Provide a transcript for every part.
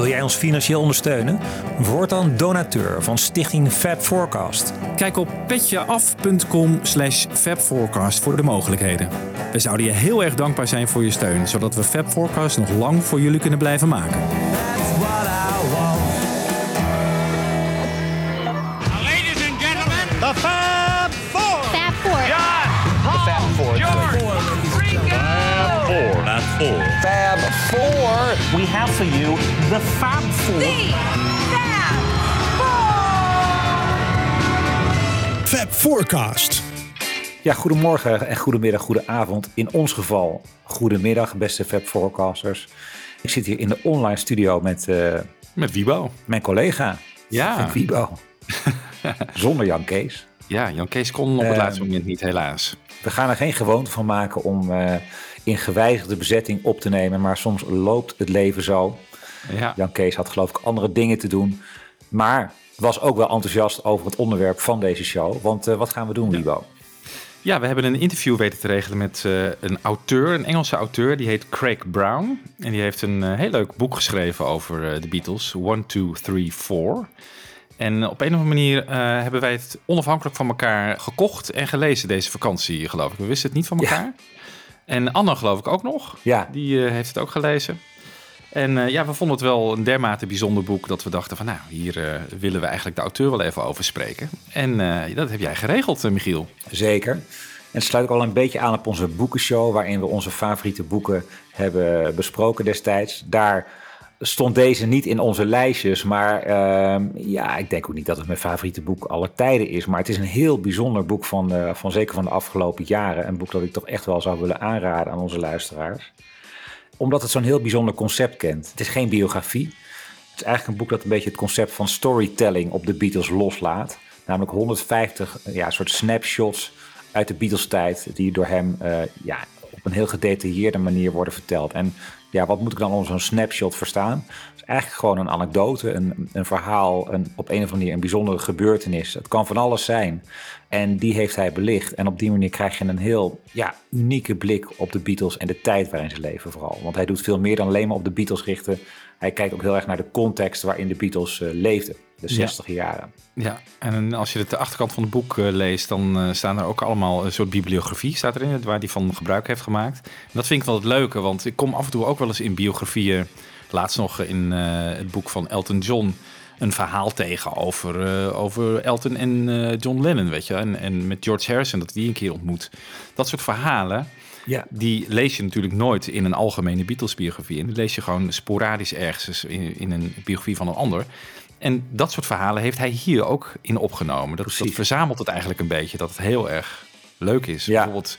Wil jij ons financieel ondersteunen? Word dan donateur van Stichting Fab Forecast. Kijk op petjeaf.com/fabforecast voor de mogelijkheden. We zouden je heel erg dankbaar zijn voor je steun, zodat we Fab Forecast nog lang voor jullie kunnen blijven maken. Ladies and gentlemen, The Fab Four. Fab Four. John, Paul, George, Ringo. Fab Four. Fab Four. We have for you the Fab Four. Fab Forecast. Ja, goedemorgen en goedemiddag, goedenavond. In ons geval, goedemiddag, beste Fab Forecasters. Ik zit hier in de online studio met Wiebo. mijn collega. Ja. Wiebo. Zonder Jan Kees. Ja, Jan Kees kon op het laatste moment niet, helaas. We gaan er geen gewoonte van maken om in gewijzigde bezetting op te nemen. Maar soms loopt het leven zo. Ja. Jan Kees had geloof ik andere dingen te doen. Maar was ook wel enthousiast over het onderwerp van deze show. Want wat gaan we doen, Wiebo? Ja, we hebben een interview weten te regelen met een auteur, een Engelse auteur. Die heet Craig Brown. En die heeft een heel leuk boek geschreven over de Beatles. 1, 2, 3, 4. En op een of andere manier hebben wij het onafhankelijk van elkaar gekocht en gelezen deze vakantie, geloof ik. We wisten het niet van elkaar. Ja. En Anne geloof ik ook nog. Ja. Die heeft het ook gelezen. En we vonden het wel een dermate bijzonder boek dat we dachten van hier willen we eigenlijk de auteur wel even over spreken. En dat heb jij geregeld, Michiel. Zeker. En het sluit ook al een beetje aan op onze boekenshow, waarin we onze favoriete boeken hebben besproken destijds. Daar stond deze niet in onze lijstjes, maar ik denk ook niet dat het mijn favoriete boek aller tijden is. Maar het is een heel bijzonder boek van zeker van de afgelopen jaren. Een boek dat ik toch echt wel zou willen aanraden aan onze luisteraars. Omdat het zo'n heel bijzonder concept kent. Het is geen biografie. Het is eigenlijk een boek dat een beetje het concept van storytelling op de Beatles loslaat. Namelijk 150 soort snapshots uit de Beatles-tijd die door hem op een heel gedetailleerde manier worden verteld. En wat moet ik dan onder zo'n snapshot verstaan? Het is eigenlijk gewoon een anekdote, een verhaal, op een of andere manier een bijzondere gebeurtenis. Het kan van alles zijn. En die heeft hij belicht. En op die manier krijg je een heel unieke blik op de Beatles en de tijd waarin ze leven vooral. Want hij doet veel meer dan alleen maar op de Beatles richten. Hij kijkt ook heel erg naar de context waarin de Beatles leefden. De 60 jaren. Ja, en als je de achterkant van het boek leest, dan staan er ook allemaal een soort bibliografie staat erin, waar hij van gebruik heeft gemaakt. En dat vind ik wel het leuke, want ik kom af en toe ook wel eens in biografieën, laatst nog in het boek van Elton John, een verhaal tegen over Elton en John Lennon, weet je. En met George Harrison, dat die een keer ontmoet. Dat soort verhalen, die lees je natuurlijk nooit in een algemene Beatles-biografie. En die lees je gewoon sporadisch ergens in een biografie van een ander. En dat soort verhalen heeft hij hier ook in opgenomen. Dat verzamelt het eigenlijk een beetje, dat het heel erg leuk is. Ja. Bijvoorbeeld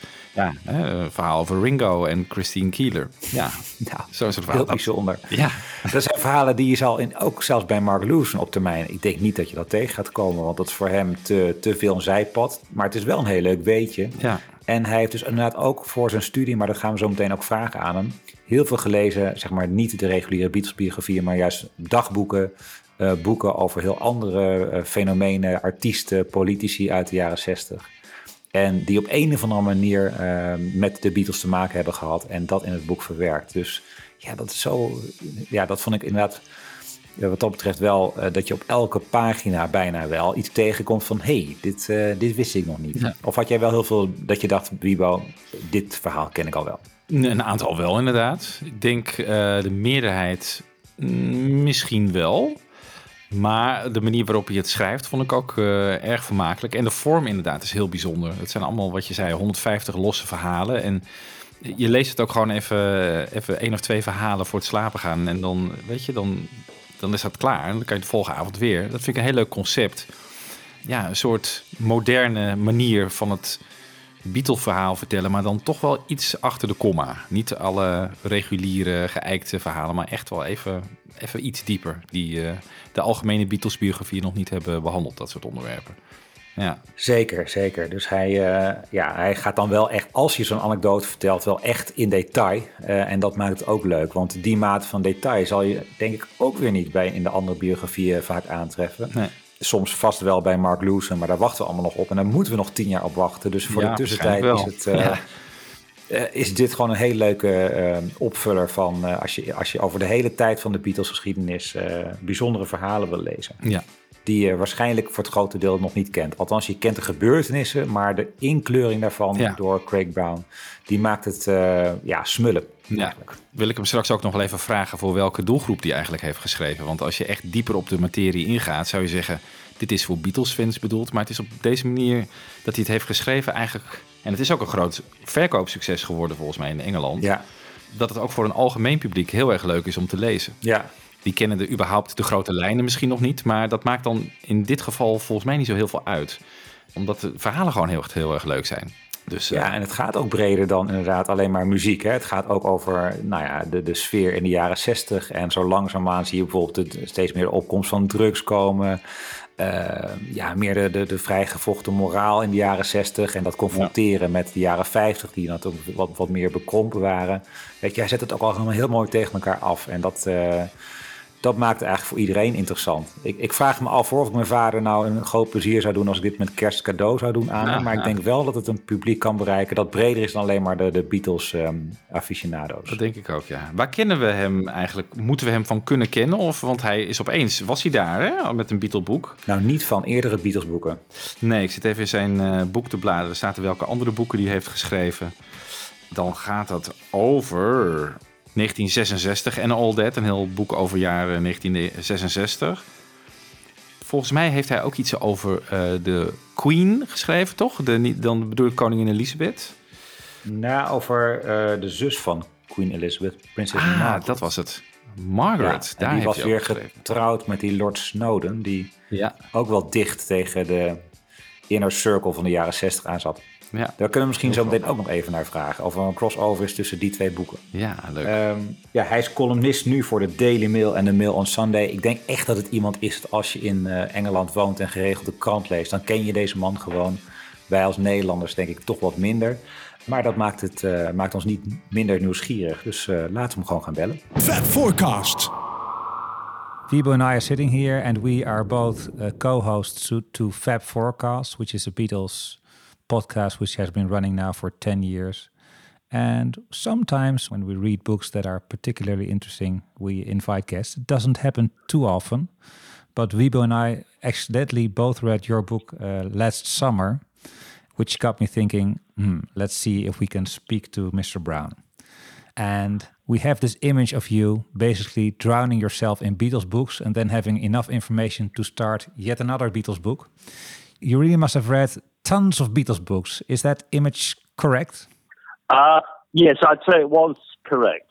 een verhaal over Ringo en Christine Keeler. Ja, zo'n soort verhaal. Heel bijzonder. Ja. Dat zijn verhalen die je zal ook zelfs bij Mark Lewison op termijn. Ik denk niet dat je dat tegen gaat komen, want dat is voor hem te veel een zijpad. Maar het is wel een heel leuk weetje. Ja. En hij heeft dus inderdaad ook voor zijn studie, maar dat gaan we zo meteen ook vragen aan hem, heel veel gelezen, zeg maar niet de reguliere Beatles-biografieën, maar juist dagboeken, boeken over heel andere fenomenen, artiesten, politici uit de jaren 60. En die op een of andere manier met de Beatles te maken hebben gehad en dat in het boek verwerkt. Dus dat is zo. Ja, dat vond ik inderdaad wat dat betreft wel dat je op elke pagina bijna wel iets tegenkomt van dit wist ik nog niet. Ja. Of had jij wel heel veel dat je dacht, Wiebo, dit verhaal ken ik al wel? Een aantal wel, inderdaad. Ik denk de meerderheid misschien wel. Maar de manier waarop je het schrijft vond ik ook erg vermakelijk. En de vorm inderdaad is heel bijzonder. Het zijn allemaal, wat je zei, 150 losse verhalen. En je leest het ook gewoon even 1 of 2 verhalen voor het slapen gaan. En dan, weet je, dan is dat klaar. En dan kan je de volgende avond weer. Dat vind ik een heel leuk concept. Ja, een soort moderne manier van het Beatle-verhaal vertellen, maar dan toch wel iets achter de komma. Niet alle reguliere, geëikte verhalen, maar echt wel even iets dieper. Die de algemene Beatles-biografie nog niet hebben behandeld, dat soort onderwerpen. Ja. Zeker. Dus hij gaat dan wel echt, als je zo'n anekdote vertelt, wel echt in detail. En dat maakt het ook leuk, want die mate van detail zal je denk ik ook weer niet in de andere biografieën vaak aantreffen. Nee. Soms vast wel bij Mark Lewison, maar daar wachten we allemaal nog op. En daar moeten we nog 10 jaar op wachten. Dus voor de tussentijd is het is dit gewoon een heel leuke opvuller van als je over de hele tijd van de Beatles-geschiedenis bijzondere verhalen wil lezen. Ja. Die je waarschijnlijk voor het grote deel nog niet kent. Althans, je kent de gebeurtenissen, maar de inkleuring daarvan door Craig Brown, die maakt het smullen. Ja. Wil ik hem straks ook nog wel even vragen voor welke doelgroep die eigenlijk heeft geschreven. Want als je echt dieper op de materie ingaat, zou je zeggen, dit is voor Beatles-fans bedoeld. Maar het is op deze manier dat hij het heeft geschreven eigenlijk. En het is ook een groot verkoopsucces geworden volgens mij in Engeland. Ja. Dat het ook voor een algemeen publiek heel erg leuk is om te lezen. Ja. Die kennen überhaupt de grote lijnen misschien nog niet. Maar dat maakt dan in dit geval volgens mij niet zo heel veel uit. Omdat de verhalen gewoon heel erg leuk zijn. Dus, en het gaat ook breder dan inderdaad alleen maar muziek. Hè? Het gaat ook over de sfeer in de jaren 60. En zo langzaamaan zie je bijvoorbeeld steeds meer de opkomst van drugs komen. Meer de vrijgevochten moraal in de jaren 60. En dat confronteren met de jaren 50, die natuurlijk wat meer bekrompen waren. Weet je, hij zet het ook allemaal heel mooi tegen elkaar af. En dat maakt het eigenlijk voor iedereen interessant. Ik vraag me af of ik mijn vader nou een groot plezier zou doen als ik dit met kerst cadeau zou doen aan hem. Maar ik denk wel dat het een publiek kan bereiken dat breder is dan alleen maar de Beatles aficionado's. Dat denk ik ook, ja. Waar kennen we hem eigenlijk? Moeten we hem van kunnen kennen? Want hij is opeens, was hij daar hè? Met een Beatle-boek? Nou, niet van eerdere Beatles-boeken. Nee, ik zit even in zijn boek te bladeren. Er staat welke andere boeken die hij heeft geschreven. Dan gaat het over 1966 en All That, een heel boek over jaren 1966. Volgens mij heeft hij ook iets over de Queen geschreven, toch? Dan bedoel ik koningin Elizabeth. Nou, over de zus van Queen Elizabeth, prinses Margaret. Dat was het. Margaret, ja, daar die heeft was weer getrouwd met die Lord Snowden, die ook wel dicht tegen de inner circle van de jaren 60 aan zat. Ja. Daar kunnen we misschien zo meteen ook nog even naar vragen. Of er een crossover is tussen die twee boeken. Ja, leuk. Hij is columnist nu voor de Daily Mail en de Mail on Sunday. Ik denk echt dat het iemand is dat als je in Engeland woont en geregeld de krant leest, dan ken je deze man gewoon. Wij als Nederlanders denk ik toch wat minder. Maar dat maakt ons niet minder nieuwsgierig. Dus laten we hem gewoon gaan bellen. Fab Forecast. Wiebo and I are sitting here and we are both co-hosts to Fab Forecast, which is a Beatles podcast which has been running now for 10 years. And sometimes when we read books that are particularly interesting, we invite guests. It doesn't happen too often, but Wiebo and I accidentally both read your book last summer, which got me thinking, let's see if we can speak to Mr. Brown. And we have this image of you basically drowning yourself in Beatles books and then having enough information to start yet another Beatles book. You really must have read tons of Beatles books. Is that image correct? Yes, I'd say it was correct.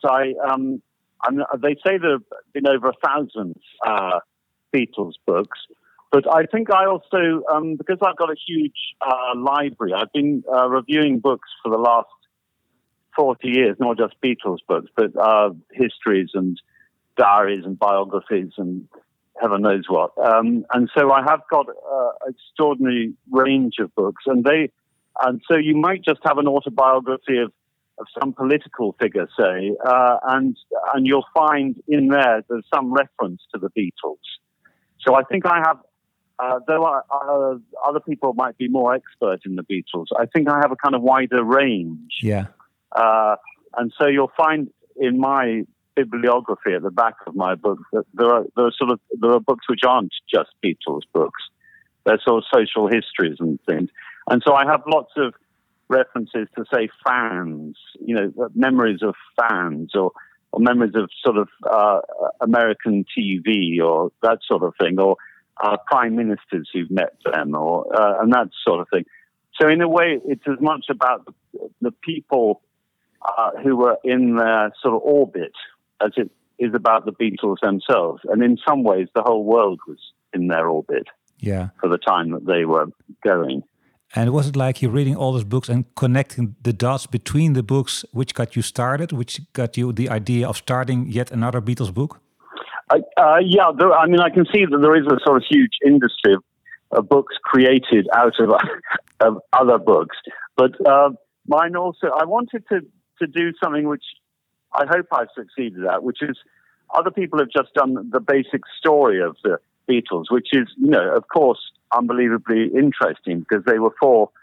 They say there have been over 1,000 Beatles books, but I think I also, because I've got a huge library, I've been reviewing books for the last 40 years, not just Beatles books, but histories and diaries and biographies and heaven knows what. And so I have got an extraordinary range of books, and so you might just have an autobiography of some political figure, say, and you'll find in there's some reference to the Beatles. So I think I have, though other people might be more expert in the Beatles, I think I have a kind of wider range. Yeah. And so you'll find in my bibliography at the back of my book that there are books which aren't just Beatles books. They're sort of social histories and things. And so I have lots of references to, say, fans, memories of fans or memories of sort of American TV or that sort of thing, or prime ministers who've met them and that sort of thing. So in a way, it's as much about the people who were in their sort of orbit as it is about the Beatles themselves. And in some ways, the whole world was in their orbit for the time that they were going. And was it like you reading all those books and connecting the dots between the books which got you started, which got you the idea of starting yet another Beatles book? I can see that there is a sort of huge industry of books created out of other books. But mine also, I wanted to do something which I hope I've succeeded at, which is other people have just done the basic story of the Beatles, which is, of course, unbelievably interesting because they were four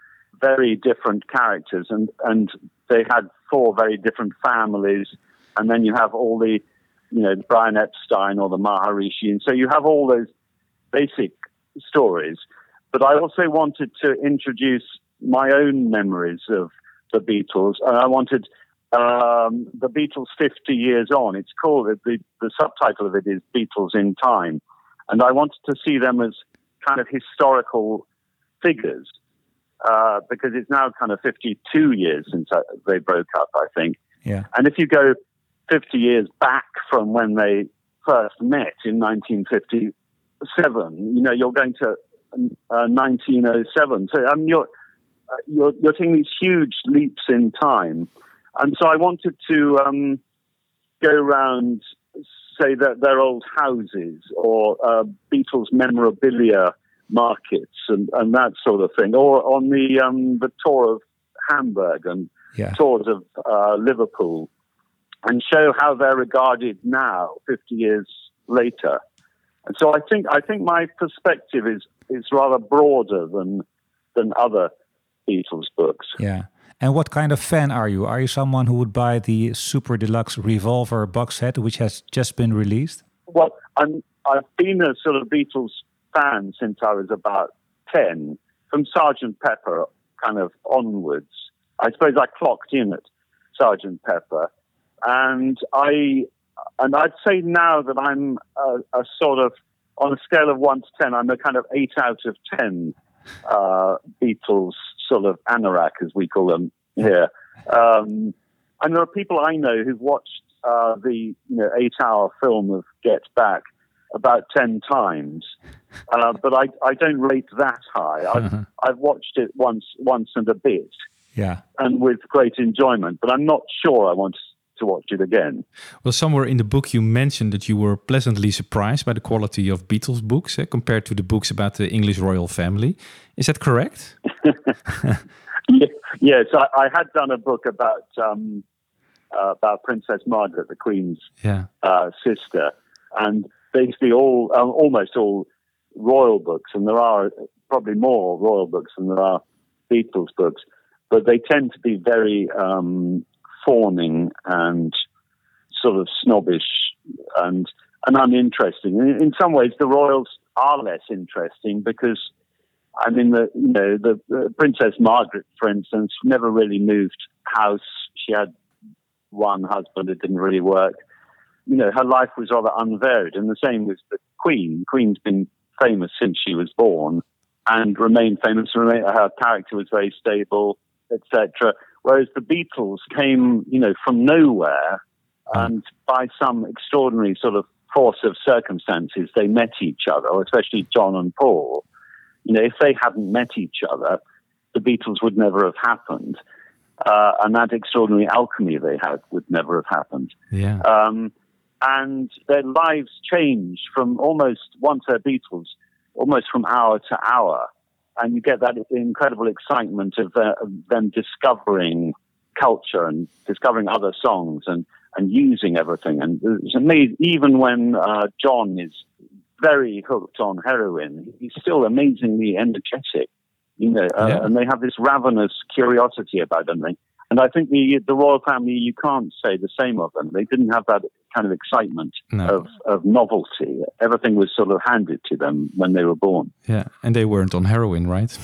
very different characters, and they had 4 very different families, and then you have all the, Brian Epstein or the Maharishi, and so you have all those basic stories. But I also wanted to introduce my own memories of the Beatles, and I wanted the Beatles 50 years on. It's called, the subtitle of it is Beatles in Time, and I wanted to see them as kind of historical figures, because it's now kind of 52 years since they broke up, I think. Yeah. And if you go 50 years back from when they first met in 1957, you're going to 1907. So you're taking these huge leaps in time. And so I wanted to go around, say, that their old houses or Beatles memorabilia markets and that sort of thing, or on the tour of Hamburg and tours of Liverpool, and show how they're regarded now, 50 years later. And so I think my perspective is rather broader than other Beatles books. Yeah. And what kind of fan are you? Are you someone who would buy the Super Deluxe Revolver box set, which has just been released? Well, I've been a sort of Beatles fan since I was about 10, from Sgt. Pepper kind of onwards. I suppose I clocked in at Sgt. Pepper, and I'd say now that I'm a sort of, on a scale of 1 to 10, I'm a kind of 8 out of 10 Beatles sort of anorak, as we call them here. And there are people I know who've watched the 8-hour film of Get Back about 10 times, but I don't rate that high. I've watched it once and a bit, and with great enjoyment, but I'm not sure I want to watch it again. Well, somewhere in the book you mentioned that you were pleasantly surprised by the quality of Beatles books compared to the books about the English royal family. Is that correct? Yes, I had done a book about Princess Margaret, the Queen's sister, and basically almost all royal books, and there are probably more royal books than there are Beatles books, but they tend to be very fawning and sort of snobbish and uninteresting. In some ways, the royals are less interesting because, I mean, the Princess Margaret, for instance, never really moved house. She had one husband; it didn't really work. Her life was rather unvaried, and the same with the Queen. Queen's been famous since she was born and remained famous. Her character was very stable, etc. Whereas the Beatles came, from nowhere, and by some extraordinary sort of force of circumstances, they met each other, or especially John and Paul. If they hadn't met each other, the Beatles would never have happened. And that extraordinary alchemy they had would never have happened. Yeah. And their lives changed from once they're Beatles, almost from hour to hour. And you get that incredible excitement of them discovering culture and discovering other songs and using everything. And it's amazing, even when John is very hooked on heroin, he's still amazingly energetic, and they have this ravenous curiosity about them. And I think the royal family, you can't say the same of them. They didn't have that kind of excitement of novelty. Everything was sort of handed to them when they were born. Yeah, and they weren't on heroin, right?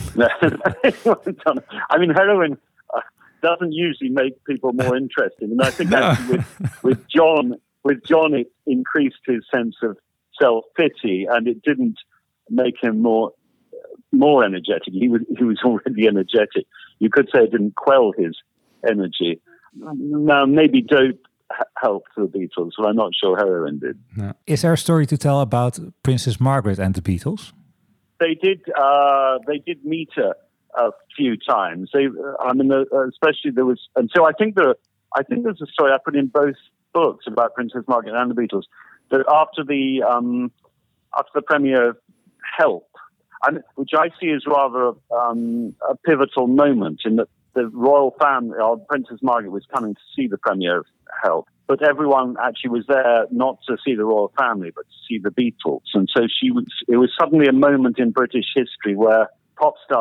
I mean, heroin doesn't usually make people more interesting. And I think actually with John, it increased his sense of self-pity, and it didn't make him more energetic. He was already energetic. You could say it didn't quell his energy. Now, maybe dope helped the Beatles, but I'm not sure heroin did. No. Is there a story to tell about Princess Margaret and the Beatles? They did meet her a few times. Especially there was, and so I think there's a story I put in both books about Princess Margaret and the Beatles. That after the premiere of Help, which I see as rather a pivotal moment in that the royal family, Princess Margaret, was coming to see the premiere of Help, but everyone actually was there not to see the royal family, but to see the Beatles. And so it was suddenly a moment in British history where pop stars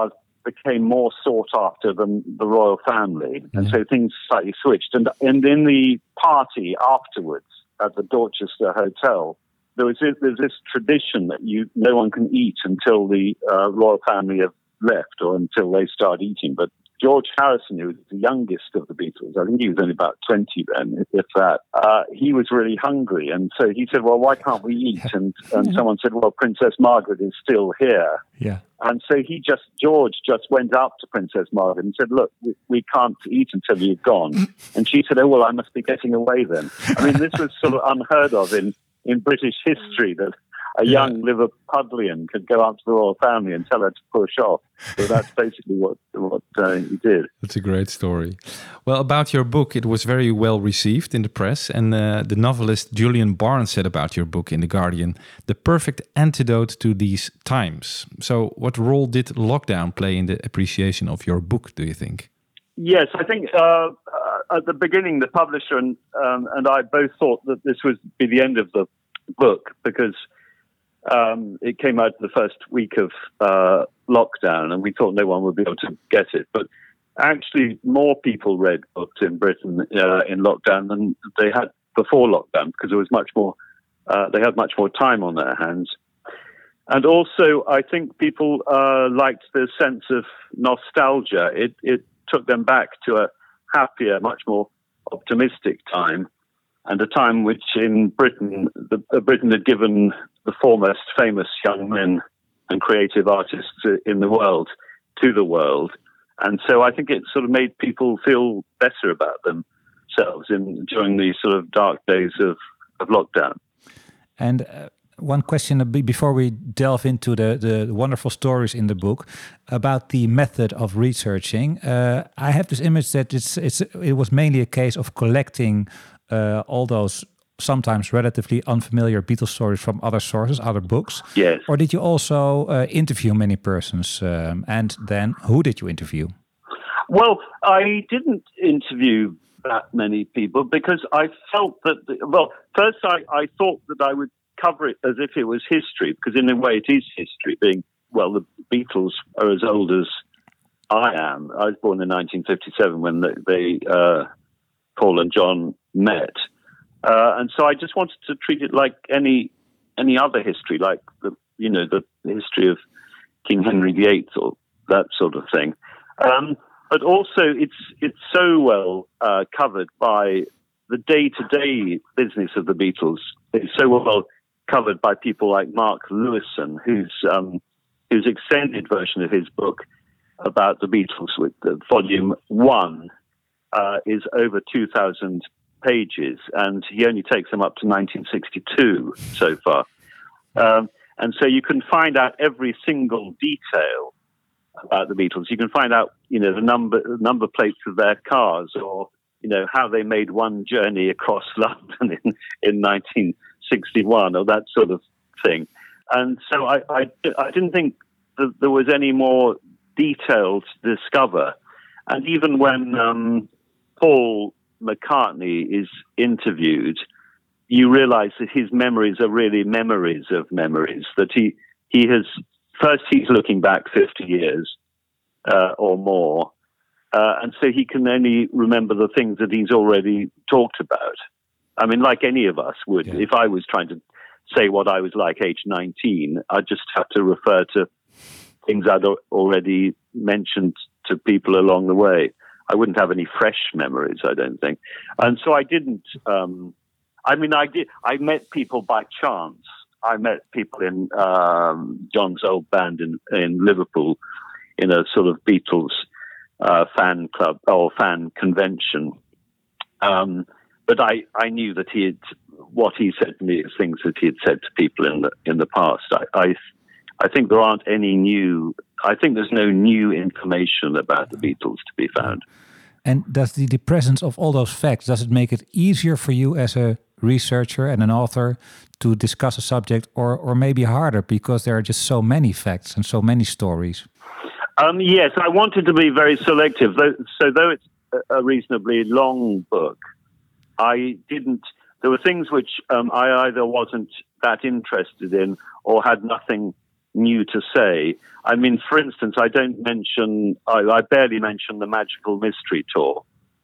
became more sought after than the royal family, and so things slightly switched. And in the party afterwards at the Dorchester Hotel, there's this tradition that no one can eat until the royal family have left or until they start eating. But George Harrison, who was the youngest of the Beatles, I think he was only about 20 then, if that, he was really hungry. And so he said, well, why can't we eat? And someone said, well, Princess Margaret is still here. Yeah. And so George just went up to Princess Margaret and said, look, we can't eat until you've gone. And she said, oh, well, I must be getting away then. I mean, this was sort of unheard of in British history, that a young Liverpudlian could go up to the royal family and tell her to push off. So that's basically what he did. That's a great story. Well, about your book, it was very well received in the press. And the novelist Julian Barnes said about your book in The Guardian, the perfect antidote to these times. So what role did lockdown play in the appreciation of your book, do you think? Yes, I think at the beginning, the publisher and I both thought that this would be the end of the book, because it came out the first week of lockdown, and we thought no one would be able to get it. But actually, more people read books in Britain in lockdown than they had before lockdown, because there was much more. They had much more time on their hands, and also I think people liked the sense of nostalgia. It took them back to a happier, much more optimistic time, and a time which in Britain, Britain had given the foremost famous young men and creative artists in the world to the world. And so I think it sort of made people feel better about themselves during these sort of dark days of lockdown. And one question before we delve into the wonderful stories in the book about the method of researching. I have this image that it was mainly a case of collecting all those sometimes relatively unfamiliar Beatles stories from other sources, other books. Yes. Or did you also interview many persons? And then who did you interview? Well, I didn't interview that many people because I felt that, first I thought that I would cover it as if it was history, because in a way it is history, being, the Beatles are as old as I am. I was born in 1957 when they Paul and John met. And so I just wanted to treat it like any other history, like the history of King Henry VIII or that sort of thing. But also it's so well covered by the day-to-day business of the Beatles. It's so well covered by people like Mark Lewison, whose extended version of his book about the Beatles, with volume 1, is over 2,000 pages, and he only takes them up to 1962 so far. And so you can find out every single detail about the Beatles. You can find out, the number plates of their cars, or how they made one journey across London in 1961, or that sort of thing. And so I didn't think that there was any more detail to discover. And even when Paul McCartney is interviewed, you realize that his memories are really memories of memories, that he's looking back 50 years or more, and so he can only remember the things that he's already talked about. I mean, like any of us would. Yeah. If I was trying to say what I was like age 19, I'd just have to refer to things I'd already mentioned to people along the way. I wouldn't have any fresh memories, I don't think. And so I didn't. I did. I met people by chance. I met people in John's old band in Liverpool in a sort of Beatles fan club or fan convention. But I knew that what he said to me is things that he had said to people in the past. I think there aren't any new. I think there's no new information about the Beatles to be found. And does the presence of all those facts, does it make it easier for you as a researcher and an author to discuss a subject, or maybe harder because there are just so many facts and so many stories? Yes, I wanted to be very selective. Though it's a reasonably long book, there were things which I either wasn't that interested in or had nothing new to say. I mean, for instance, I barely mention the Magical Mystery Tour.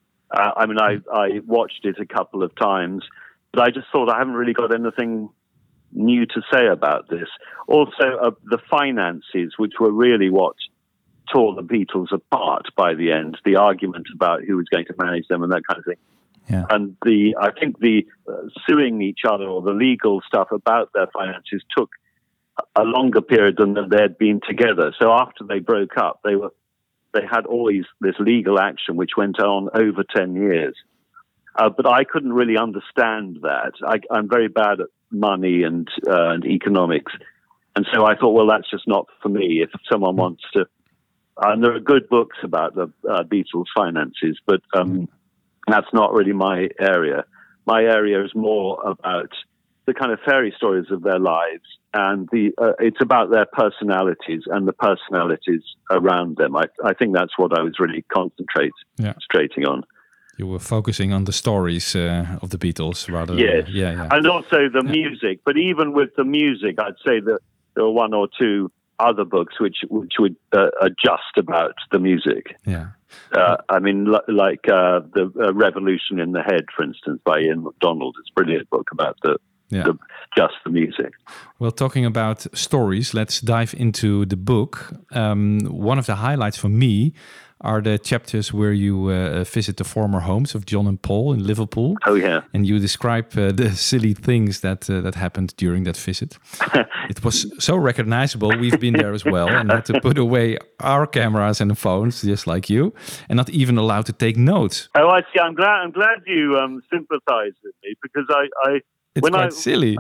I mean, I watched it a couple of times, but I just thought I haven't really got anything new to say about this. Also, the finances, which were really what tore the Beatles apart by the end, the argument about who was going to manage them and that kind of thing. Yeah. And I think the suing each other or the legal stuff about their finances took a longer period than they had been together. So after they broke up, they had always this legal action which went on over 10 years. But I couldn't really understand that. I'm very bad at money and economics. And so I thought, well, that's just not for me. If someone wants to... And there are good books about the Beatles' finances, but that's not really my area. My area is more about the kind of fairy stories of their lives, and it's about their personalities and the personalities around them. I think that's what I was really concentrating on. You were focusing on the stories of the Beatles rather yes. than... Yeah. And also the music. But even with the music, I'd say that there were one or two other books which would adjust about the music. Yeah. I mean, like the Revolution in the Head, for instance, by Ian MacDonald. It's a brilliant book about just the music. Well, talking about stories, let's dive into the book. One of the highlights for me are the chapters where you visit the former homes of John and Paul in Liverpool. Oh, yeah. And you describe the silly things that happened during that visit. It was so recognizable. We've been there as well and had to put away our cameras and the phones, just like you, and not even allowed to take notes. Oh, I see. I'm glad you sympathize with me, because it's quite silly.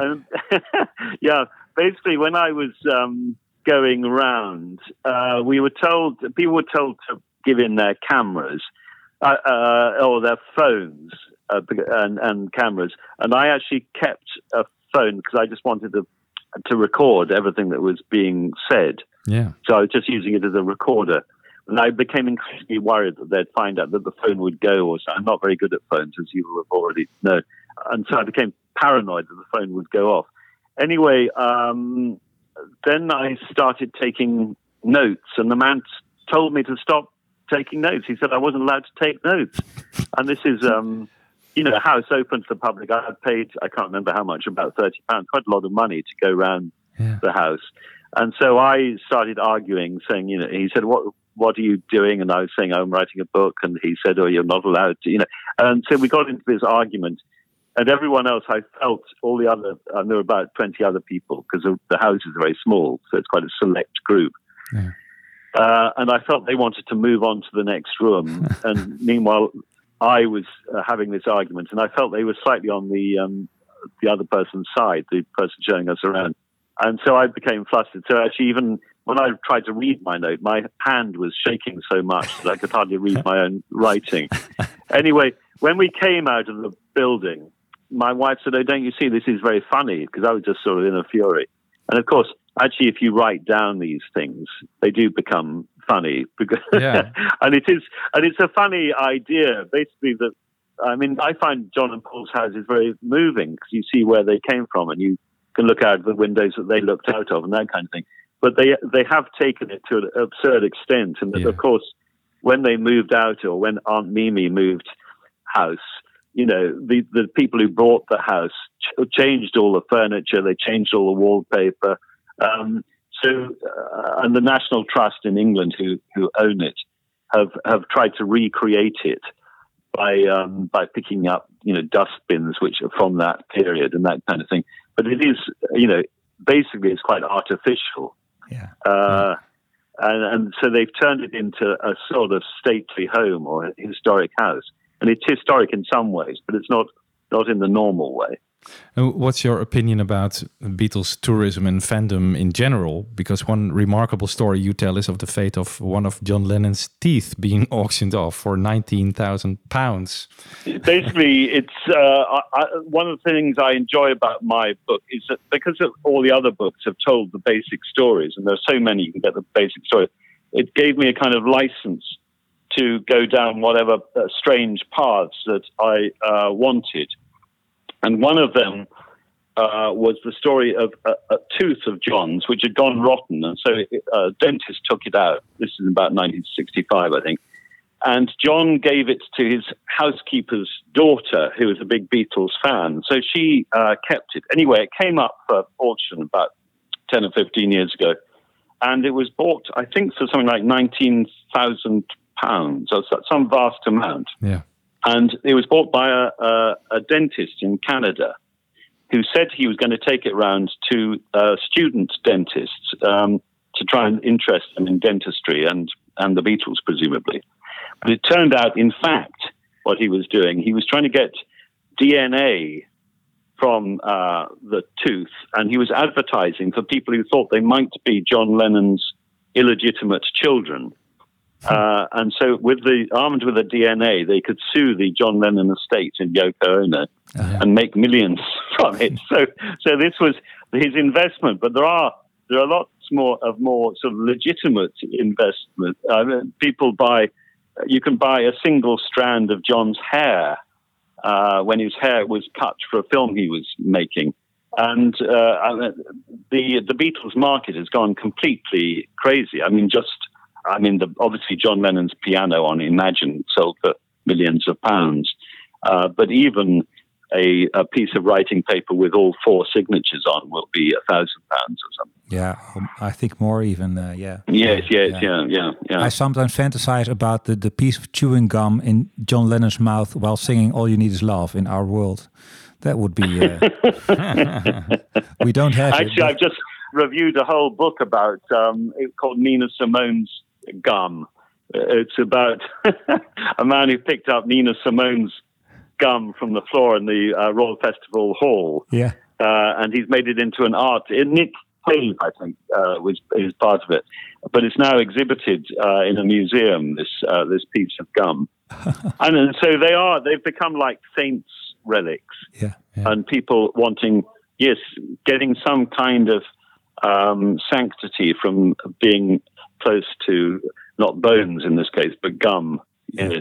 Yeah. Basically, when I was going around, people were told to give in their cameras or their phones and cameras, and I actually kept a phone because I just wanted to record everything that was being said. Yeah. So I was just using it as a recorder, and I became increasingly worried that they'd find out that the phone would go or something. I'm not very good at phones, as you will have already known, and so I became paranoid that the phone would go off. Anyway, then I started taking notes, and the man told me to stop taking notes. He said I wasn't allowed to take notes. And this is, a house open to the public. I had paid, I can't remember how much, about £30, quite a lot of money to go around the house. And so I started arguing, saying, he said, what are you doing? And I was saying, I'm writing a book. And he said, oh, you're not allowed to, And so we got into this argument. And everyone else, I felt all the other, and there were about 20 other people, because the house is very small, so it's quite a select group. Yeah. And I felt they wanted to move on to the next room. And meanwhile, I was having this argument, and I felt they were slightly on the other person's side, the person showing us around. And so I became flustered. So actually, even when I tried to read my note, my hand was shaking so much that I could hardly read my own writing. Anyway, when we came out of the building, my wife said, oh, don't you see, this is very funny, because I was just sort of in a fury. And of course, actually, if you write down these things, they do become funny. Because and it's a funny idea, basically, that, I mean, I find John and Paul's house is very moving, because you see where they came from, and you can look out the windows that they looked out of and that kind of thing. But they have taken it to an absurd extent. And of course, when they moved out, or when Aunt Mimi moved house, the people who bought the house changed all the furniture, they changed all the wallpaper. And the National Trust in England, who own it, have tried to recreate it by picking up, dustbins which are from that period and that kind of thing. But it is, basically it's quite artificial. Yeah. And so they've turned it into a sort of stately home or a historic house. And it's historic in some ways, but it's not in the normal way. What's your opinion about Beatles tourism and fandom in general? Because one remarkable story you tell is of the fate of one of John Lennon's teeth being auctioned off for £19,000. Basically, it's one of the things I enjoy about my book is that because all the other books have told the basic stories, and there's so many you can get the basic story, it gave me a kind of license to go down whatever strange paths that I wanted. And one of them was the story of a tooth of John's, which had gone rotten. And so a dentist took it out. This is about 1965, I think. And John gave it to his housekeeper's daughter, who was a big Beatles fan. So she kept it. Anyway, it came up for auction about 10 or 15 years ago. And it was bought, I think, for something like £19,000, or some vast amount. Yeah. And it was bought by a dentist in Canada who said he was going to take it round to student dentists to try and interest them in dentistry and the Beatles, presumably. But it turned out, in fact, what he was doing, he was trying to get DNA from the tooth, and he was advertising for people who thought they might be John Lennon's illegitimate children. And so armed with the DNA, they could sue the John Lennon estate in Yoko Ono and make millions from it. So this was his investment. But there are lots more sort of legitimate investment. You can buy a single strand of John's hair when his hair was cut for a film he was making. And the Beatles market has gone completely crazy. Obviously John Lennon's piano on Imagine sold for millions of pounds. But even a piece of writing paper with all 4 signatures on will be £1,000 or something. Yeah, I think more even. Yeah. Yes. I sometimes fantasize about the piece of chewing gum in John Lennon's mouth while singing "All You Need Is Love" in Our World. That would be. We don't have. Actually, I've just reviewed a whole book about it's called Nina Simone's Gum. It's about a man who picked up Nina Simone's gum from the floor in the Royal Festival Hall. Yeah. And he's made it into an art. Nick Cave, I think, is part of it. But it's now exhibited in a museum, this piece of gum. And so they've become like saints' relics. Yeah. And people getting some kind of sanctity from being close to, not bones in this case, but gum. Yes.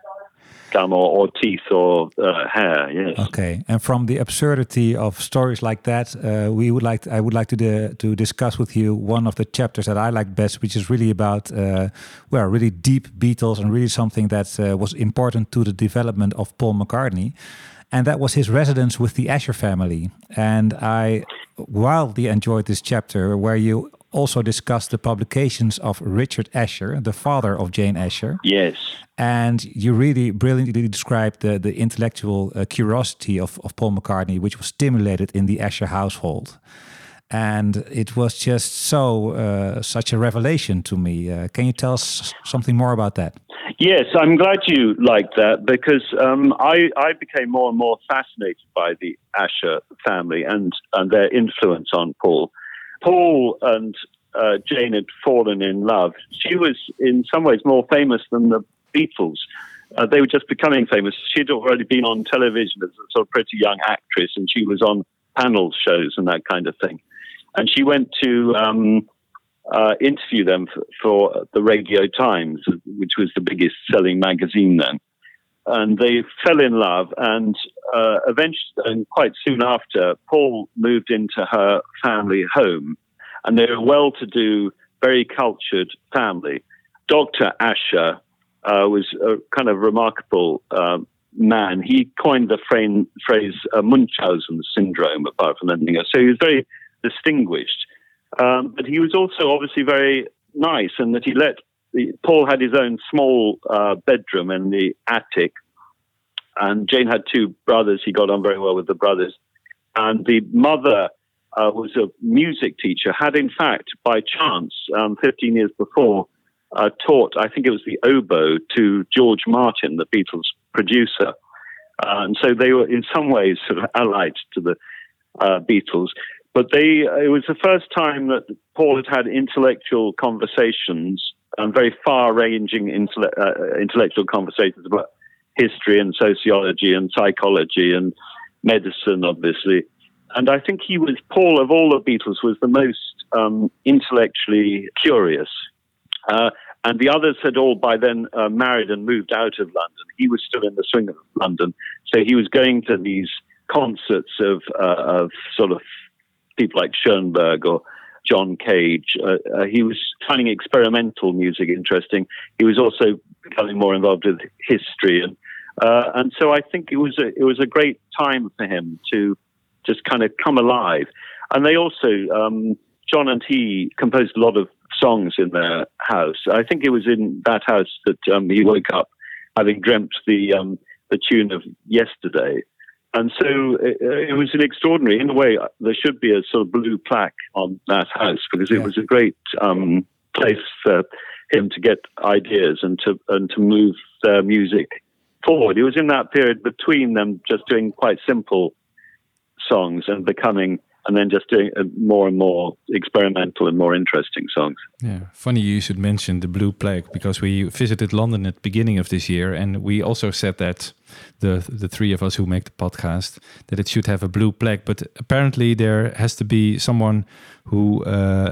Gum or teeth or hair, yes. Okay, and from the absurdity of stories like that, I would like to discuss with you one of the chapters that I like best, which is really about really deep Beatles and really something that was important to the development of Paul McCartney, and that was his residence with the Asher family. And I wildly enjoyed this chapter where you also discussed the publications of Richard Asher, the father of Jane Asher. Yes. And you really brilliantly described the intellectual curiosity of Paul McCartney, which was stimulated in the Asher household. And it was just such a revelation to me. Can you tell us something more about that? Yes, I'm glad you liked that because I became more and more fascinated by the Asher family and their influence on Paul. Paul and Jane had fallen in love. She was in some ways more famous than the Beatles. They were just becoming famous. She'd already been on television as a sort of pretty young actress, and she was on panel shows and that kind of thing. And she went to interview them for the Radio Times, which was the biggest selling magazine then. And they fell in love, and eventually, and quite soon after, Paul moved into her family home, and they were a well-to-do, very cultured family. Dr. Asher was a kind of remarkable man. He coined the phrase Munchausen syndrome, apart from anything else. So he was very distinguished, but he was also obviously very nice, and that Paul had his own small bedroom in the attic, and Jane had 2 brothers. He got on very well with the brothers. And the mother was a music teacher, had in fact, by chance, 15 years before, taught, I think it was the oboe, to George Martin, the Beatles producer. And so they were in some ways sort of allied to the Beatles. But it was the first time that Paul had intellectual conversations, and very far-ranging intellectual conversations about history and sociology and psychology and medicine, obviously. And I think Paul, of all the Beatles, was the most intellectually curious. And the others had all by then married and moved out of London. He was still in the swing of London. So he was going to these concerts of sort of people like Schoenberg or John Cage. He was finding experimental music interesting. He was also becoming more involved with history, and so I think it was a great time for him to just kind of come alive. And they also, John and he composed a lot of songs in their house. I think it was in that house that he woke up having dreamt the tune of Yesterday. And so it was an extraordinary, in a way, there should be a sort of blue plaque on that house, because it was a great place for him to get ideas and to move their music forward. It was in that period between them just doing quite simple songs and then just doing more and more experimental and more interesting songs. Yeah, funny you should mention the blue plaque, because we visited London at the beginning of this year, and we also said that the three of us who make the podcast, that it should have a blue plaque. But apparently there has to be someone who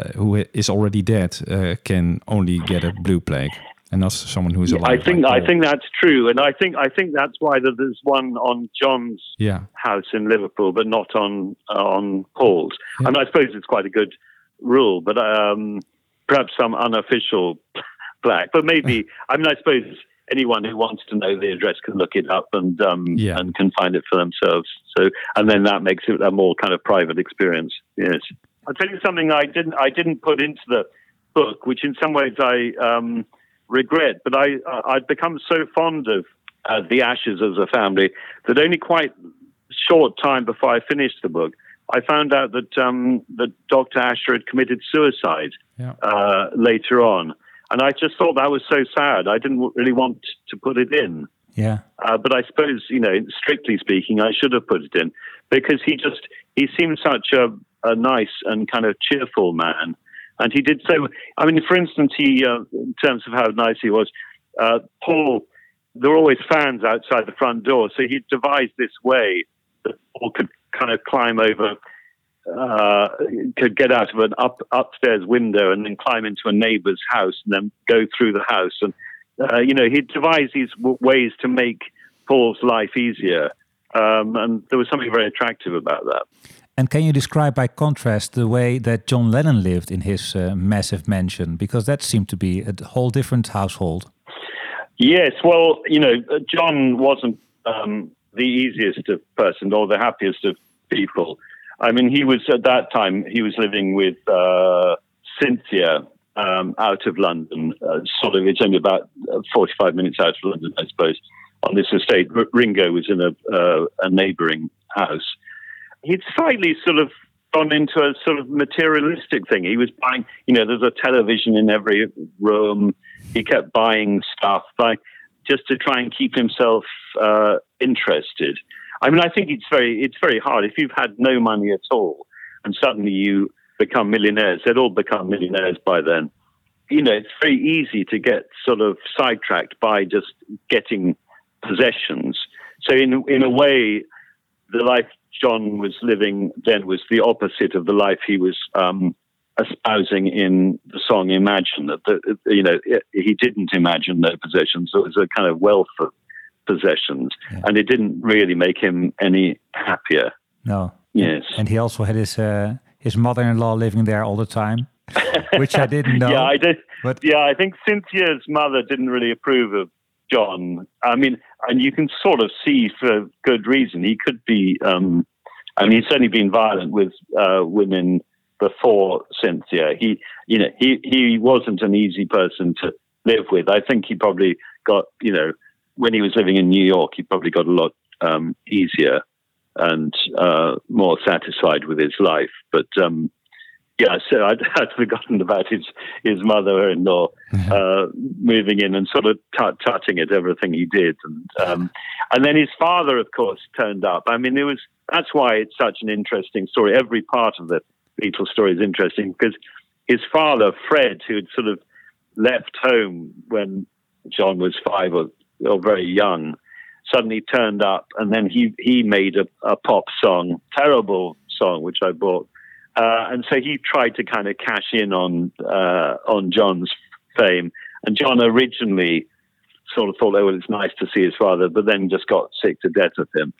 is already dead can only get a blue plaque, and not someone who is alive. I think that's true, and I think that's why there's one on John's house in Liverpool, but not on Paul's. Yeah. And I suppose it's quite a good rule, but perhaps some unofficial plaque. But maybe I suppose anyone who wants to know the address can look it up and can find it for themselves. So, and then that makes it a more kind of private experience. Yes, I'll tell you something I didn't put into the book, which in some ways I regret, but I'd become so fond of the Ashers as a family that only quite short time before I finished the book, I found out that Dr. Asher had committed suicide later on. And I just thought that was so sad. I didn't really want to put it in. Yeah. But I suppose, strictly speaking, I should have put it in, because he seemed such a nice and kind of cheerful man. And he did so. I mean, for instance, he, in terms of how nice he was, Paul, there were always fans outside the front door. So he devised this way that Paul could kind of climb over, could get out of an upstairs window and then climb into a neighbor's house and then go through the house. And, he devised these ways to make Paul's life easier. And there was something very attractive about that. And can you describe, by contrast, the way that John Lennon lived in his massive mansion? Because that seemed to be a whole different household. Yes, well, John wasn't the easiest of person or the happiest of people. I mean, he was, at that time, he was living with Cynthia out of London. It's only about 45 minutes out of London, I suppose, on this estate. Ringo was in a neighbouring house. He'd slightly sort of gone into a sort of materialistic thing. He was buying, there's a television in every room. He kept buying stuff just to try and keep himself interested. I mean, I think it's very hard. If you've had no money at all and suddenly you become millionaires, they'd all become millionaires by then. It's very easy to get sort of sidetracked by just getting possessions. So in a way, the life John was living then was the opposite of the life he was espousing in the song Imagine. That he didn't imagine no possessions. So it was a kind of wealth of possessions, and it didn't really make him any happier. No. Yes. And he also had his mother-in-law living there all the time, which I didn't know. Yeah, I did. But I think Cynthia's mother didn't really approve of John. I mean, and you can sort of see for good reason. He could be, he's certainly been violent with women before Cynthia. He wasn't an easy person to live with. I think he probably got, when he was living in New York, he probably got a lot easier and more satisfied with his life. But so I'd forgotten about his mother-in-law moving in and sort of tutting at everything he did, and then his father, of course, turned up. I mean, that's why it's such an interesting story. Every part of the Beatles story is interesting because his father, Fred, who had sort of left home when John was 5 or very young, suddenly turned up, and then he made a pop song, terrible song, which I bought. And so he tried to kind of cash in on John's fame. And John originally sort of thought, it's nice to see his father, but then just got sick to death of him.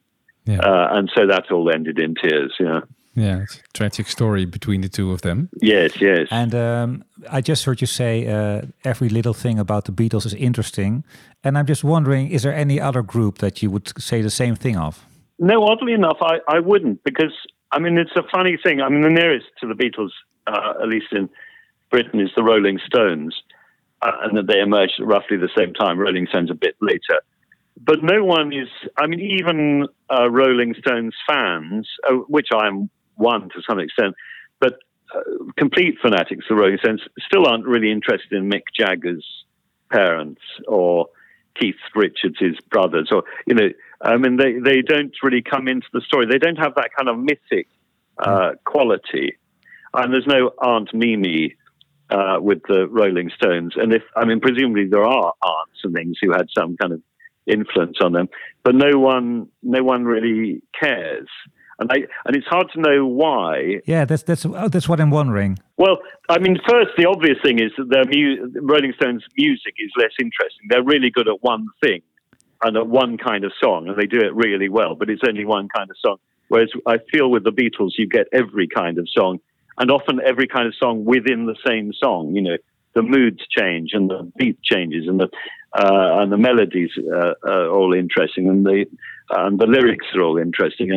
And so that all ended in tears. Yeah. Yeah, it's a tragic story between the two of them. Yes. And I just heard you say every little thing about the Beatles is interesting. And I'm just wondering, is there any other group that you would say the same thing of? No, oddly enough, I wouldn't, because, I mean, it's a funny thing. I mean, the nearest to the Beatles, at least in Britain, is the Rolling Stones. And that they emerged at roughly the same time. Rolling Stones a bit later. But no one is, I mean, even Rolling Stones fans, which I'm one to some extent, but complete fanatics of Rolling Stones still aren't really interested in Mick Jagger's parents or Keith Richards' brothers, or, you know, I mean, they don't really come into the story. They don't have that kind of mythic quality. And there's no Aunt Mimi with the Rolling Stones. And presumably there are aunts and things who had some kind of influence on them, but no one really cares. And it's hard to know why. Yeah, that's what I'm wondering. Well, I mean, first, the obvious thing is that Rolling Stones' music is less interesting. They're really good at one thing and at one kind of song, and they do it really well, but it's only one kind of song. Whereas I feel with the Beatles, you get every kind of song, and often every kind of song within the same song. You know, the moods change and the beat changes, and the melodies are all interesting, and the lyrics are all interesting,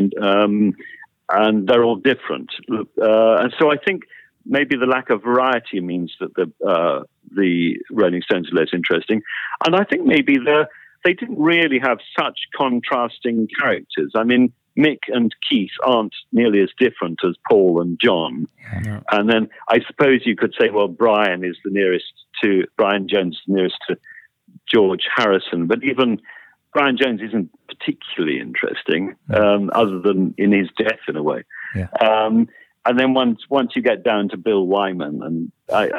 and they're all different. And so I think maybe the lack of variety means that the Rolling Stones are less interesting, and I think maybe they didn't really have such contrasting characters. I mean, Mick and Keith aren't nearly as different as Paul and John. No. And then I suppose you could say, well, Brian Jones is the nearest to George Harrison, but even Brian Jones isn't particularly interesting, other than in his death, in a way. Yeah. And then once you get down to Bill Wyman, and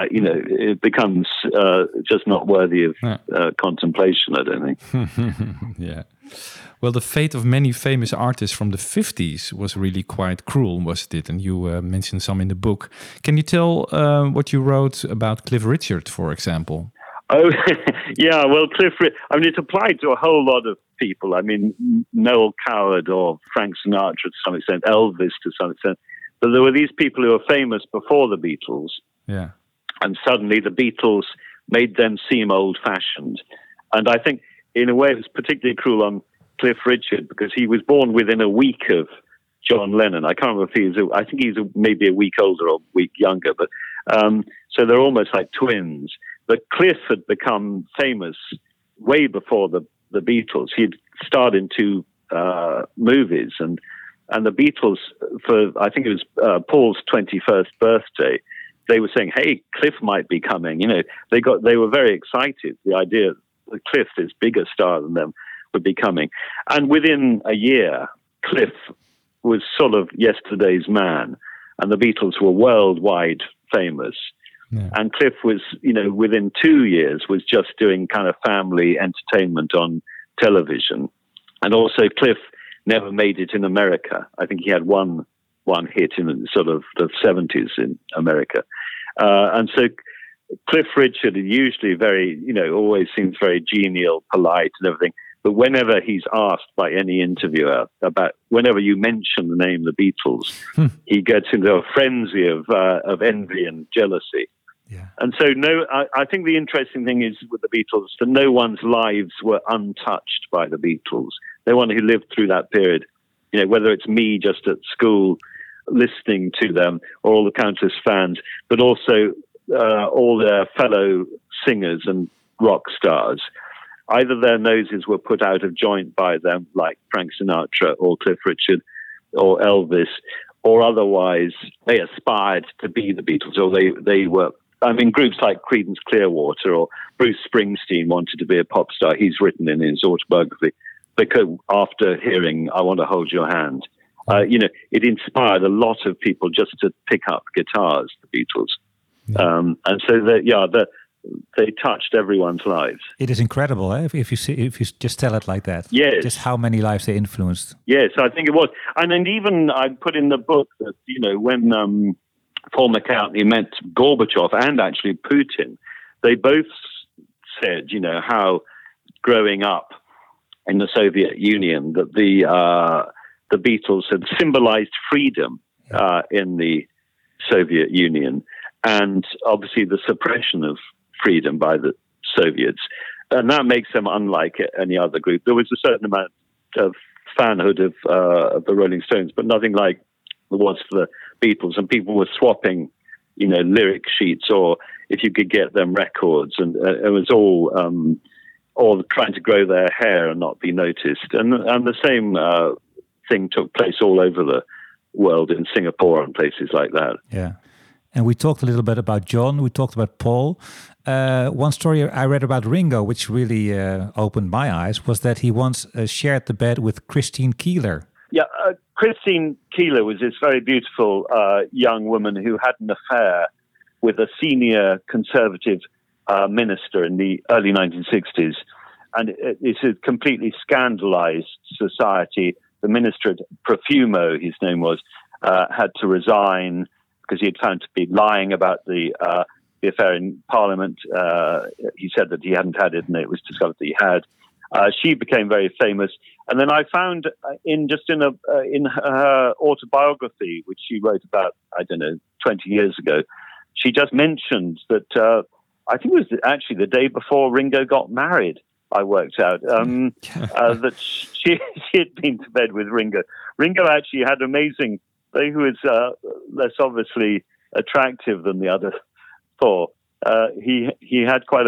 it becomes just not worthy of contemplation, I don't think. Yeah. Well, the fate of many famous artists from the 50s was really quite cruel, wasn't it? And you mentioned some in the book. Can you tell what you wrote about Cliff Richard, for example? Oh, yeah. Well, it applied to a whole lot of people. I mean, Noel Coward or Frank Sinatra to some extent, Elvis to some extent. But there were these people who were famous before the Beatles. Yeah. And suddenly the Beatles made them seem old-fashioned. And I think, in a way, it was particularly cruel on Cliff Richard, because he was born within a week of John Lennon. I can't remember if I think he's maybe a week older or a week younger. But so they're almost like twins. But Cliff had become famous way before the Beatles. He'd starred in 2 movies, and the Beatles, for I think it was Paul's 21st birthday, they were saying, "Hey, Cliff might be coming." You know, they were very excited. The idea that Cliff, this bigger star than them, would be coming, and within a year, Cliff was sort of yesterday's man, and the Beatles were worldwide famous. Yeah. And Cliff was, within 2 years, was just doing kind of family entertainment on television, and also Cliff never made it in America. I think he had one hit in sort of the 70s in America. And so Cliff Richard is usually very, always seems very genial, polite and everything. But whenever he's asked by any interviewer about, whenever you mention the name the Beatles, he gets into a frenzy of envy and jealousy. Yeah. And so, I think the interesting thing is with the Beatles that no one's lives were untouched by the Beatles. No one who lived through that period, whether it's me just at school listening to them, or all the countless fans, but also all their fellow singers and rock stars. Either their noses were put out of joint by them, like Frank Sinatra or Cliff Richard or Elvis, or otherwise they aspired to be the Beatles, or they were. I mean, groups like Creedence Clearwater or Bruce Springsteen wanted to be a pop star. He's written in his autobiography, because after hearing "I Want to Hold Your Hand," it inspired a lot of people just to pick up guitars, the Beatles. And so they touched everyone's lives. It is incredible, eh? If you just tell it like that. Yes. Just how many lives they influenced. Yes, I think it was. And then even I put in the book that, when Paul McCartney met Gorbachev and actually Putin, they both said, how growing up in the Soviet Union, that the Beatles had symbolized freedom in the Soviet Union, and obviously the suppression of freedom by the Soviets. And that makes them unlike any other group. There was a certain amount of fanhood of the Rolling Stones, but nothing like there was for the Beatles. And people were swapping, lyric sheets, or if you could get them, records. And it was all trying to grow their hair and not be noticed. And the same thing took place all over the world, in Singapore and places like that. Yeah. And we talked a little bit about John. We talked about Paul. One story I read about Ringo, which really opened my eyes, was that he once shared the bed with Christine Keeler. Yeah, Christine Keeler was this very beautiful young woman who had an affair with a senior conservative minister in the early 1960s. And this had completely scandalized society. The minister, Profumo, his name was, had to resign because he had found to be lying about the affair in Parliament. He said that he hadn't had it, and it was discovered that he had. She became very famous, and then I found in her autobiography, which she wrote about 20 years ago, she just mentioned that I think it was actually the day before Ringo got married. I worked out that she had been to bed with Ringo. Ringo actually had amazing. He was less obviously attractive than the other four. He had quite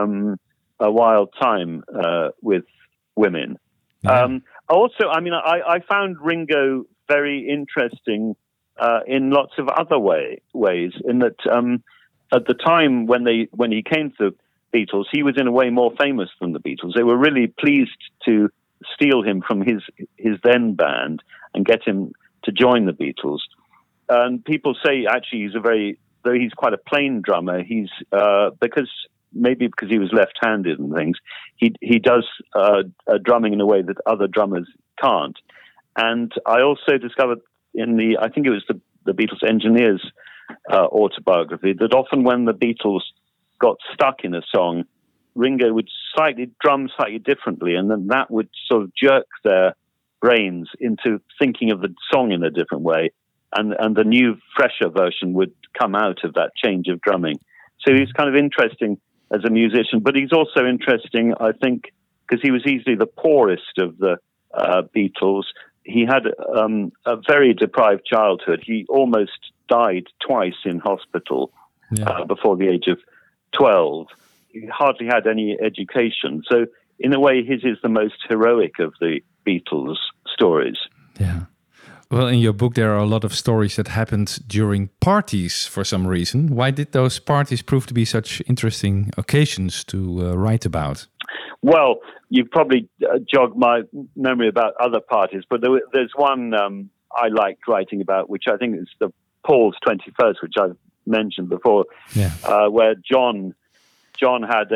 a wild time with women. Yeah. Also, I found Ringo very interesting in lots of other ways. In that, at the time when he came to the Beatles, he was in a way more famous than the Beatles. They were really pleased to steal him from his then band and get him to join the Beatles. And people say actually though he's quite a plain drummer, he's because he was left-handed and things, he does drumming in a way that other drummers can't. And I also discovered I think it was the Beatles engineers autobiography, that often when the Beatles got stuck in a song, Ringo would drum slightly differently, and then that would sort of jerk their brains into thinking of the song in a different way, and the new, fresher version would come out of that change of drumming. So he's kind of interesting as a musician, but he's also interesting, I think, because he was easily the poorest of the Beatles. He had a very deprived childhood. He almost died twice in hospital before the age of 12. He hardly had any education. So in a way, his is the most heroic of the Beatles stories. Yeah. Well, in your book, there are a lot of stories that happened during parties for some reason. Why did those parties prove to be such interesting occasions to write about? Well, you've probably jogged my memory about other parties, but there's one I liked writing about, which I think is the Paul's 21st, which I've mentioned before, where John had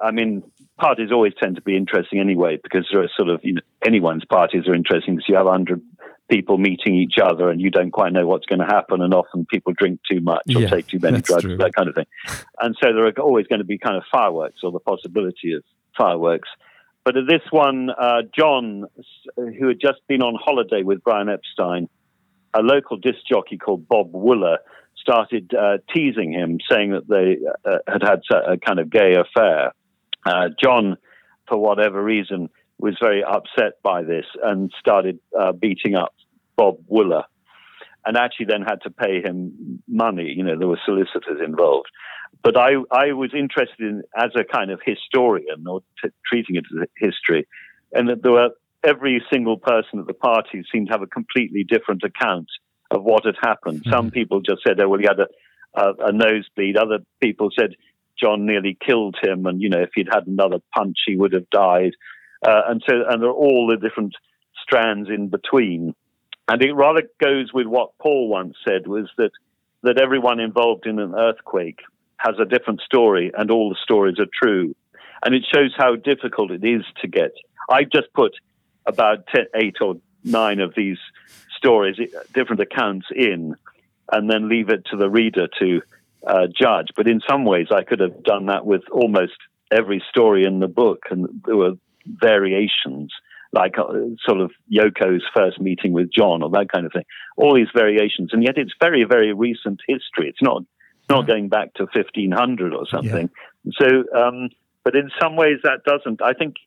parties always tend to be interesting anyway, because there are sort of, anyone's parties are interesting because you have 100 people meeting each other and you don't quite know what's going to happen, and often people drink too much or take too many drugs, that kind of thing. And so there are always going to be kind of fireworks, or the possibility of fireworks. But at this one, John, who had just been on holiday with Brian Epstein, a local disc jockey called Bob Wooler started teasing him, saying that they had a kind of gay affair. John, for whatever reason, was very upset by this and started beating up Bob Wooler, and actually then had to pay him money. There were solicitors involved. But I was interested in, as a kind of historian, or treating it as a history, and that there were every single person at the party seemed to have a completely different account of what had happened. Mm-hmm. Some people just said, he had a nosebleed. Other people said John nearly killed him, and if he'd had another punch, he would have died. And there are all the different strands in between. And it rather goes with what Paul once said, was that everyone involved in an earthquake has a different story, and all the stories are true. And it shows how difficult it is to get. I just put about 8 or 9 of these stories, different accounts in, and then leave it to the reader to judge. But in some ways, I could have done that with almost every story in the book, and there were variations like sort of Yoko's first meeting with John or that kind of thing. All these variations, and yet it's very, very recent history. It's not going back to 1500 or something. Yeah. So, but in some ways that doesn't. I think,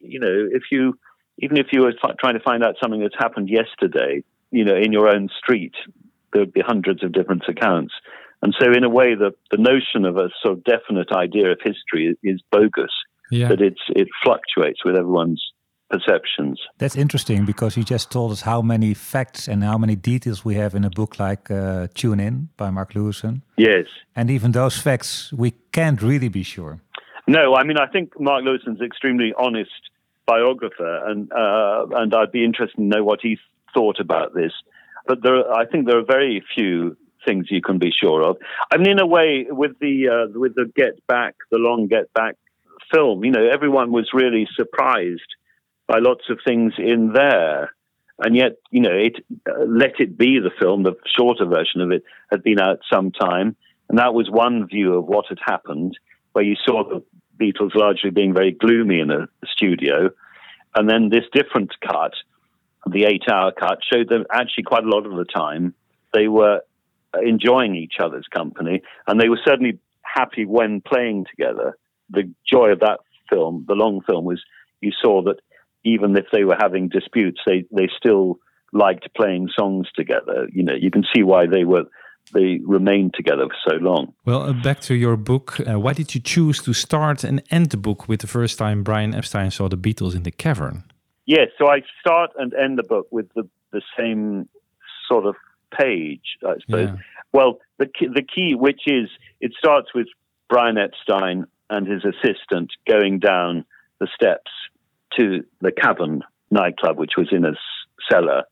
even if you were trying to find out something that's happened yesterday, in your own street, there'd be hundreds of different accounts. And so in a way, the notion of a sort of definite idea of history is bogus, that it fluctuates with everyone's perceptions. That's interesting, because you just told us how many facts and how many details we have in a book like Tune In by Mark Lewison. Yes. And even those facts, we can't really be sure. No, I mean, I think Mark Lewison's extremely honest biographer, and I'd be interested to know what he thought about this. But I think there are very few things you can be sure of. I mean, in a way, with the Get Back, the long Get Back film, everyone was really surprised by lots of things in there. And yet, Let It Be, the film, the shorter version of it, had been out some time. And that was one view of what had happened, where you saw the Beatles largely being very gloomy in a studio. And then this different cut, the 8-hour cut, showed them actually quite a lot of the time they were enjoying each other's company, and they were certainly happy when playing together. The joy of that film, the long film, was you saw that even if they were having disputes, they still liked playing songs together. You can see why they remained together for so long. Well, back to your book. Why did you choose to start and end the book with the first time Brian Epstein saw the Beatles in the cavern? Yes, so I start and end the book with the same sort of page, I suppose. Yeah. Well, the key, which is, it starts with Brian Epstein and his assistant going down the steps to the Cavern nightclub, which was in a cellar.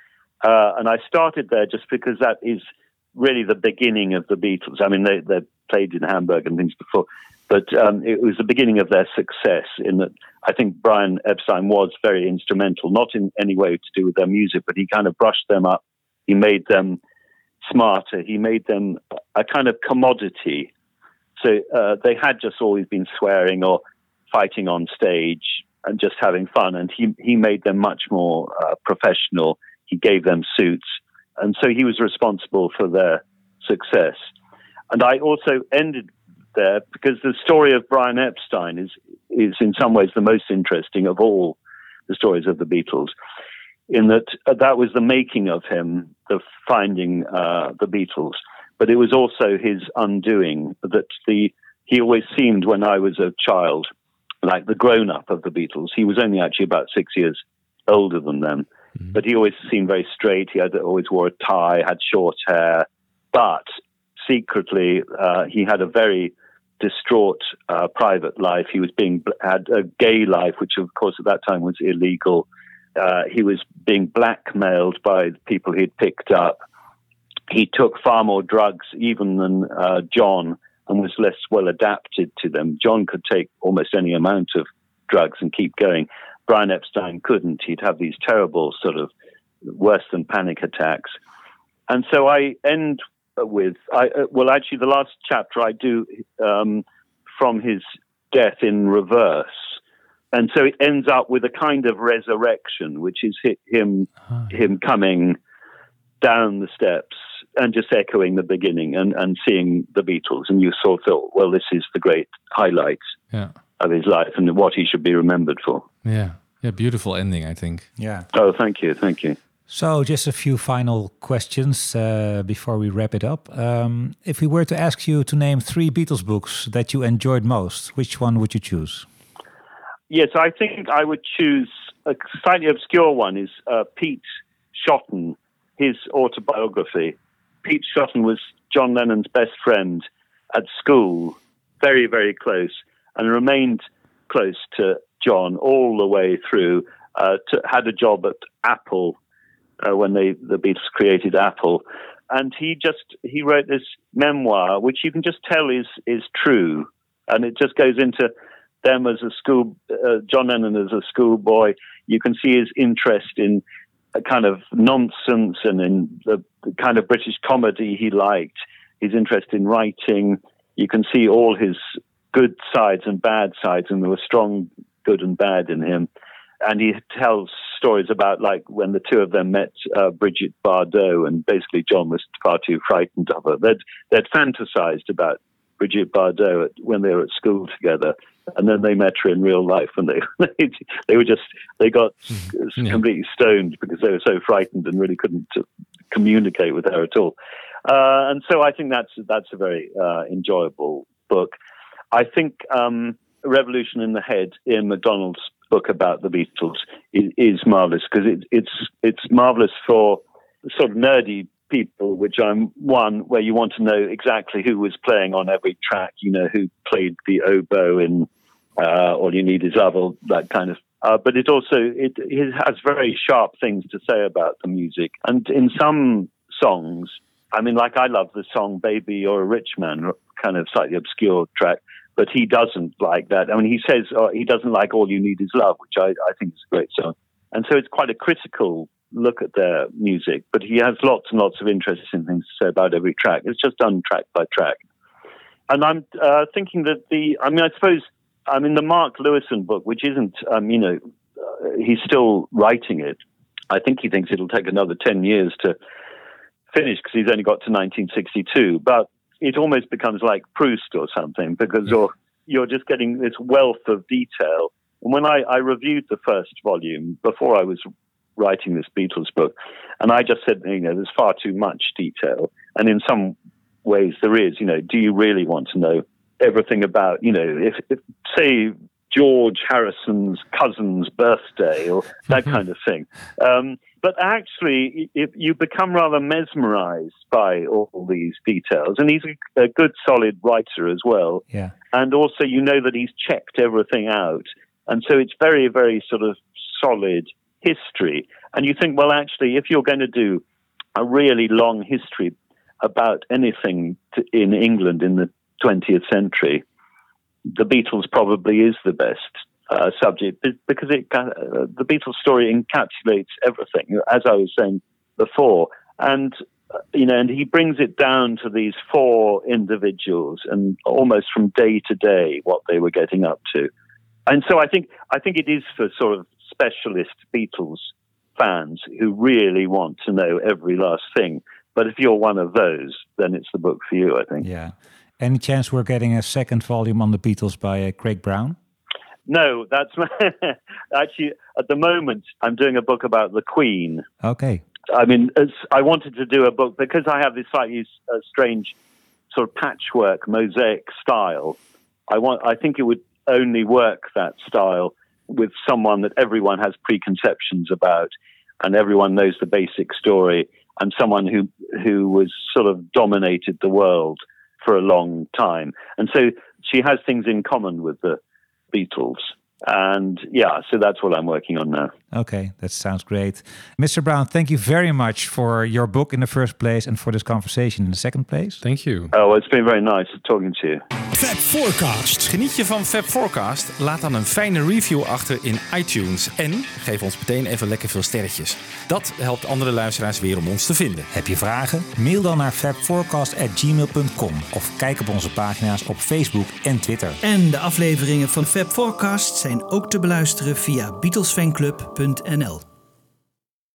And I started there just because that is really the beginning of the Beatles. I mean, they played in Hamburg and things before, but it was the beginning of their success, in that I think Brian Epstein was very instrumental, not in any way to do with their music, but he kind of brushed them up. He made them smarter. He made them a kind of commodity. So they had just always been swearing or fighting on stage and just having fun. And he made them much more professional. He gave them suits. And so he was responsible for their success. And I also ended there because the story of Brian Epstein is in some ways the most interesting of all the stories of the Beatles, in that that was the making of him, the finding the Beatles. But it was also his undoing, that he always seemed, when I was a child, like the grown-up of the Beatles. He was only actually about 6 years older than them. Mm-hmm. But he always seemed very straight. He always wore a tie, had short hair. But secretly, he had a very distraught private life. He had a gay life, which of course at that time was illegal. He was being blackmailed by the people he'd picked up. He took far more drugs even than John, and was less well adapted to them. John could take almost any amount of drugs and keep going. Brian Epstein couldn't. He'd have these terrible sort of worse than panic attacks. And so I end with, actually the last chapter I do from his death in reverse. And so it ends up with a kind of resurrection, which is him coming down the steps and just echoing the beginning and seeing the Beatles. And you sort of thought, well, this is the great highlight of his life and what he should be remembered for. Yeah, beautiful ending, I think. Yeah. Oh, thank you. So just a few final questions before we wrap it up. If we were to ask you to name 3 Beatles books that you enjoyed most, which one would you choose? Yes, I think I would choose a slightly obscure one, is Pete Shotton, his autobiography. Pete Shotton was John Lennon's best friend at school, very, very close, and remained close to John all the way through. Had a job at Apple when the Beatles created Apple. And he wrote this memoir, which you can just tell is true. And it just goes into them as a John Lennon as a schoolboy. You can see his interest in a kind of nonsense and in the kind of British comedy he liked, his interest in writing. You can see all his good sides and bad sides, and there were strong good and bad in him. And he tells stories about like when the two of them met Brigitte Bardot, and basically John was far too frightened of her. They'd fantasized about Brigitte Bardot when they were at school together, and then they met her in real life, and they got completely stoned because they were so frightened and really couldn't communicate with her at all. And so I think that's a very enjoyable book. I think Revolution in the Head, Ian MacDonald's book about the Beatles, is marvelous because it's marvelous for sort of nerdy people, which I'm one, where you want to know exactly who was playing on every track, who played the oboe in All You Need Is Love, or that kind of. But it also it has very sharp things to say about the music, and in some songs, I mean, like I love the song "Baby You're a Rich Man," kind of slightly obscure track. But he doesn't like that. I mean, he says he doesn't like All You Need Is Love, which I think is a great song. And so it's quite a critical look at their music. But he has lots and lots of interesting things to say about every track. It's just done track by track. And I'm thinking that the Mark Lewison book, which isn't, he's still writing it. I think he thinks it'll take another 10 years to finish because he's only got to 1962. But it almost becomes like Proust or something because you're just getting this wealth of detail. And when I reviewed the first volume before I was writing this Beatles book, and I just said, there's far too much detail. And in some ways there is, do you really want to know everything about, if say George Harrison's cousin's birthday or that kind of thing. But actually, if you become rather mesmerized by all these details, and he's a good, solid writer as well. Yeah. And also, that he's checked everything out. And so it's very, very sort of solid history. And you think, well, actually, if you're going to do a really long history about anything in England in the 20th century, the Beatles probably is the best subject because the Beatles story encapsulates everything, as I was saying before, and and he brings it down to these four individuals and almost from day to day what they were getting up to, and so I think it is for sort of specialist Beatles fans who really want to know every last thing. But if you're one of those, then it's the book for you, I think. Yeah. Any chance we're getting a second volume on the Beatles by Craig Brown? No, that's actually at the moment I'm doing a book about the Queen. Okay. I mean, I wanted to do a book because I have this slightly strange sort of patchwork mosaic style. I think it would only work, that style, with someone that everyone has preconceptions about and everyone knows the basic story, and someone who was sort of dominated the world for a long time. And so she has things in common with the Beatles. And so that's what I'm working on now. Okay, that sounds great. Mr. Brown, thank you very much for your book in the first place and for this conversation in the second place. Thank you. Oh, well, it's been very nice talking to you. Fab Forecast. Geniet je van Fab Forecast? Laat dan een fijne review achter in iTunes. En geef ons meteen even lekker veel sterretjes. Dat helpt andere luisteraars weer om ons te vinden. Heb je vragen? Mail dan naar fabforecast@gmail.com of kijk op onze pagina's op Facebook en Twitter. En de afleveringen van Fab Forecast zijn ook te beluisteren via BeatlesFanclub.nl.